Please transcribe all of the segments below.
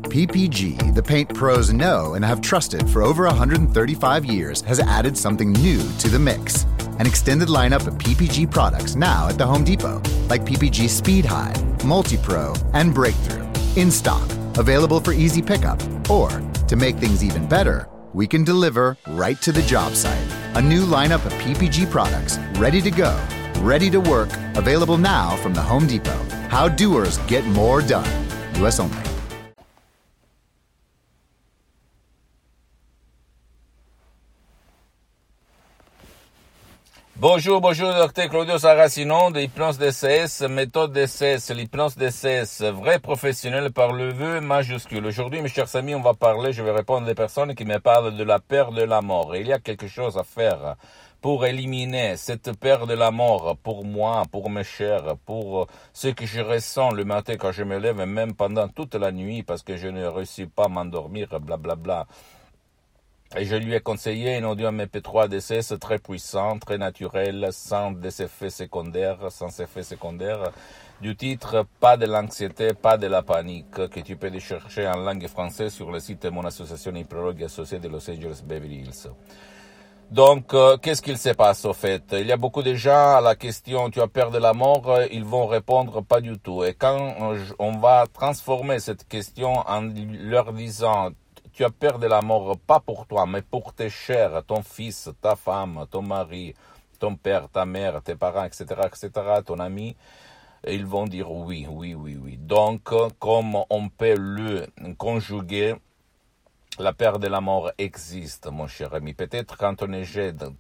PPG, the paint pros know and have trusted for over 135 years, has added something new to the mix. An extended lineup of PPG products now at the Home Depot, like PPG Speed High, Multi-Pro, and Breakthrough. In stock, available for easy pickup, or, to make things even better, we can deliver right to the job site. A new lineup of PPG products, ready to go, ready to work, available now from the Home Depot. How doers get more done. US only. Bonjour, docteur Claudio Saracino de Hypnose DCS, méthode DCS, l'hypnose DCS, vrai professionnel par le vœu majuscule. Aujourd'hui, mes chers amis, je vais répondre à des personnes qui me parlent de la peur de la mort. Et il y a quelque chose à faire pour éliminer cette peur de la mort pour moi, pour mes chers, pour ce que je ressens le matin quand je me lève, et même pendant toute la nuit, parce que je ne réussis pas à m'endormir, blablabla. Et je lui ai conseillé un audio MP3 DCS très puissant, très naturel, sans effets secondaires, du titre « Pas de l'anxiété, pas de la panique » que tu peux chercher en langue française sur le site de mon association hypnologue associée de Los Angeles Beverly Hills. Donc, qu'est-ce qu'il se passe au fait? Il y a beaucoup de gens à la question « Tu as peur de la mort ?» ils vont répondre « Pas du tout ». Et quand on va transformer cette question en leur disant « Tu as peur de la mort, pas pour toi, mais pour tes chers, ton fils, ta femme, ton mari, ton père, ta mère, tes parents, etc., ton ami », et ils vont dire oui. Donc, comme on peut le conjuguer, la peur de la mort existe, mon cher ami. Peut-être quand on est jeune,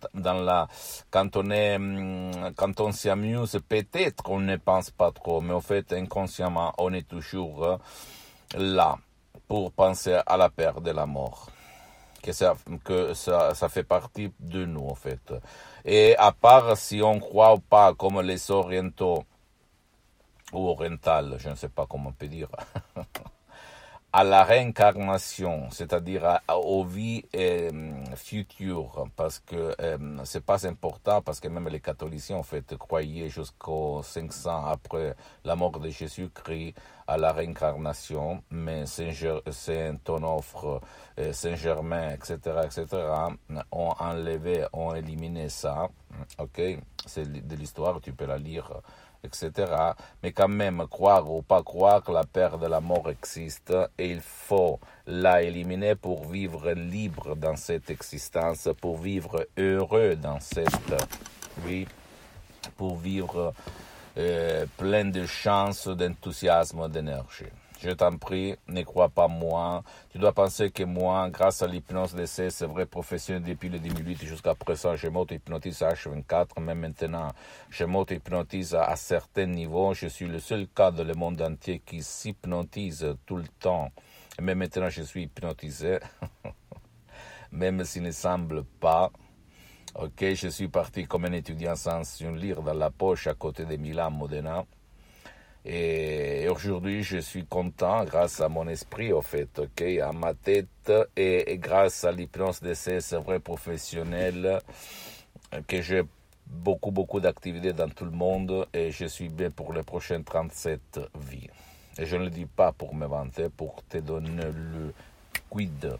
quand on s'amuse, peut-être on ne pense pas trop, mais en fait, inconsciemment, on est toujours là pour penser à la peur de la mort. Que ça fait partie de nous, en fait. Et à part si on croit ou pas, comme les orientaux, ou orientales, je ne sais pas comment on peut dire, à la réincarnation, c'est-à-dire aux vies futures, parce que c'est pas important, parce que même les catholiques, en fait, croyaient jusqu'aux 500 après la mort de Jésus-Christ à la réincarnation, mais Saint-Onofre, Saint-Germain, etc., ont enlevé, ont éliminé ça, ok? C'est de l'histoire, tu peux la lire, etc. Mais quand même, croire ou pas croire, la peur de la mort existe et il faut la éliminer pour vivre libre dans cette existence, pour vivre heureux dans cette vie, pour vivre plein de chance, d'enthousiasme, d'énergie. Je t'en prie, ne crois pas moi. Tu dois penser que moi, grâce à l'hypnose DCS, c'est vrai professionnel depuis le 2008 jusqu'à présent, je m'auto-hypnotise à H24, même maintenant, je m'auto-hypnotise à certains niveaux. Je suis le seul cas dans le monde entier qui s'hypnotise tout le temps. Et même maintenant, je suis hypnotisé, même s'il ne semble pas. Ok, je suis parti comme un étudiant sans un livre dans la poche à côté de Milan, Modena. Et aujourd'hui, je suis content grâce à mon esprit, au fait, ok, à ma tête et grâce à l'hypnose DCS vrai professionnel, que j'ai beaucoup d'activités dans tout le monde et je suis bien pour les prochaines 37 vies. Et je ne le dis pas pour me vanter, pour te donner le quid,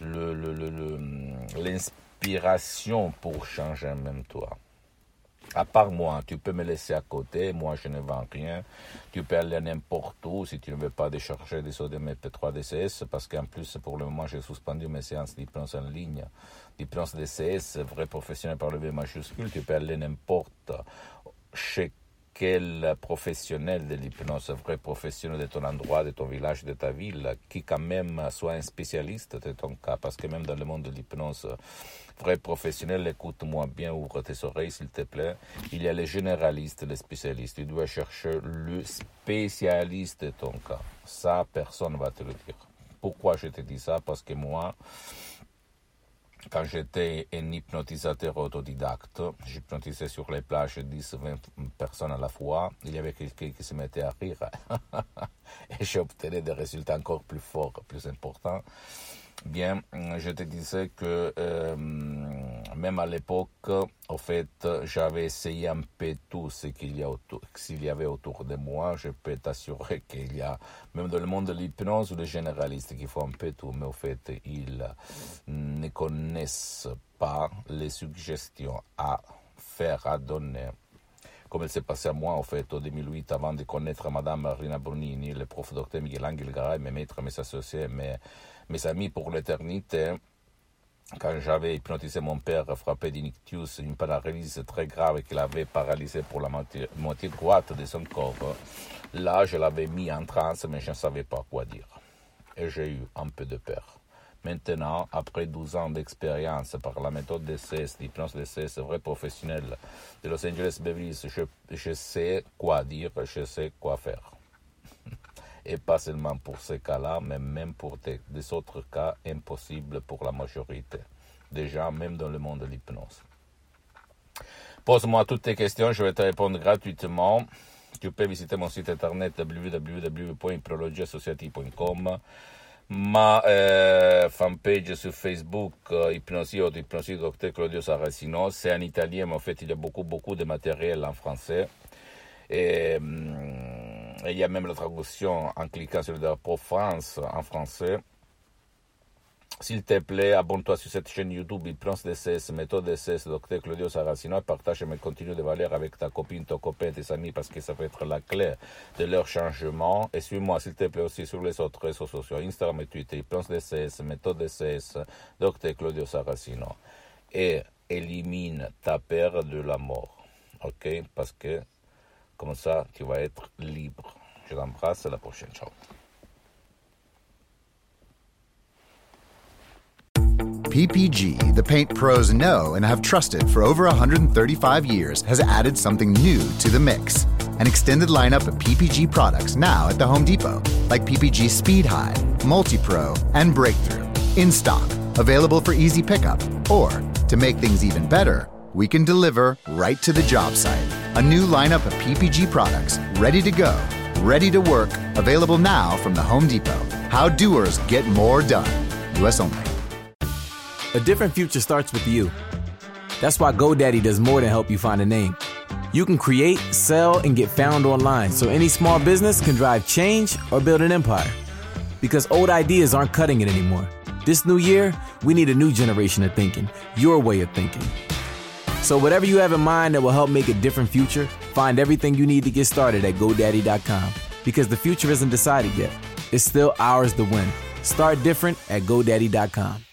l'inspiration pour changer même toi. À part moi, tu peux me laisser à côté, moi je ne vends rien, tu peux aller n'importe où si tu ne veux pas décharger des audios MP3 DCS, parce qu'en plus pour le moment j'ai suspendu mes séances d'hypnose en ligne, d'hypnose DCS, vrai professionnel par le V majuscule, tu peux aller n'importe chez quel professionnel de l'hypnose, vrai professionnel de ton endroit, de ton village, de ta ville, qui quand même soit un spécialiste de ton cas, parce que même dans le monde de l'hypnose, vrai professionnel, écoute-moi bien, ouvre tes oreilles s'il te plaît, il y a les généralistes, les spécialistes, tu dois chercher le spécialiste de ton cas, ça personne ne va te le dire. Pourquoi je te dis ça? Parce que moi, quand j'étais un hypnotisateur autodidacte, j'hypnotisais sur les plages 10-20 personnes à la fois. Il y avait quelqu'un qui se mettait à rire et j'obtenais des résultats encore plus forts, plus importants. Bien, je te disais que même à l'époque, en fait, j'avais essayé un peu tout ce qu'il y avait autour de moi. Je peux t'assurer qu'il y a, même dans le monde de l'hypnose ou des généralistes qui font un peu tout, mais en fait, ils ne connaissent pas les suggestions à faire, à donner. Comme il s'est passé à moi, en fait, en 2008, avant de connaître Madame Rina Brunini, le prof docteur Miguel Angel Garay, mes maîtres, mes associés, mes amis pour l'éternité. Quand j'avais hypnotisé mon père frappé d'ictus, une paralysie très grave qu'il avait paralysé pour la moitié droite de son corps, là, je l'avais mis en transe, mais je ne savais pas quoi dire. Et j'ai eu un peu de peur. Maintenant, après 12 ans d'expérience par la méthode DCS, l'hypnose DCS, vrai professionnel de Los Angeles Beverly Hills, je sais quoi dire, je sais quoi faire. Et pas seulement pour ces cas-là, mais même pour des autres cas impossibles pour la majorité des gens, même dans le monde de l'hypnose. Pose-moi toutes tes questions, je vais te répondre gratuitement. Tu peux visiter mon site internet www.hypnologieassociative.com, ma fanpage sur Facebook, Hypnosie Dr Claudio Saracino. C'est en italien, mais en fait, il y a beaucoup de matériel en français. Et il y a même la traduction en cliquant sur le drapeau France en français. S'il te plaît, abonne-toi sur cette chaîne YouTube Hypnose DCS, méthode DCS, Dr Claudio Saracino, et partage mes contenus de valeur avec ta copine, ton copain, tes amis, parce que ça peut être la clé de leur changement. Et suis-moi, s'il te plaît, aussi sur les autres réseaux sociaux, Instagram et Twitter, Hypnose DCS, méthode DCS, Dr Claudio Saracino. Et élimine ta peur de la mort. Ok? Parce que comme ça, tu vas être libre. Je t'embrasse, à la prochaine. Ciao. PPG, the paint pros know and have trusted for over 135 years, has added something new to the mix. An extended lineup of PPG products now at the Home Depot, like PPG Speed High, Multi-Pro, and Breakthrough. In stock, available for easy pickup. Or, to make things even better, we can deliver right to the job site. A new lineup of PPG products, ready to go, ready to work, available now from the Home Depot. How doers get more done. U.S. only. A different future starts with you. That's why GoDaddy does more than help you find a name. You can create, sell, and get found online so any small business can drive change or build an empire. Because old ideas aren't cutting it anymore. This new year, we need a new generation of thinking, your way of thinking. So whatever you have in mind that will help make a different future, find everything you need to get started at GoDaddy.com. Because the future isn't decided yet. It's still ours to win. Start different at GoDaddy.com.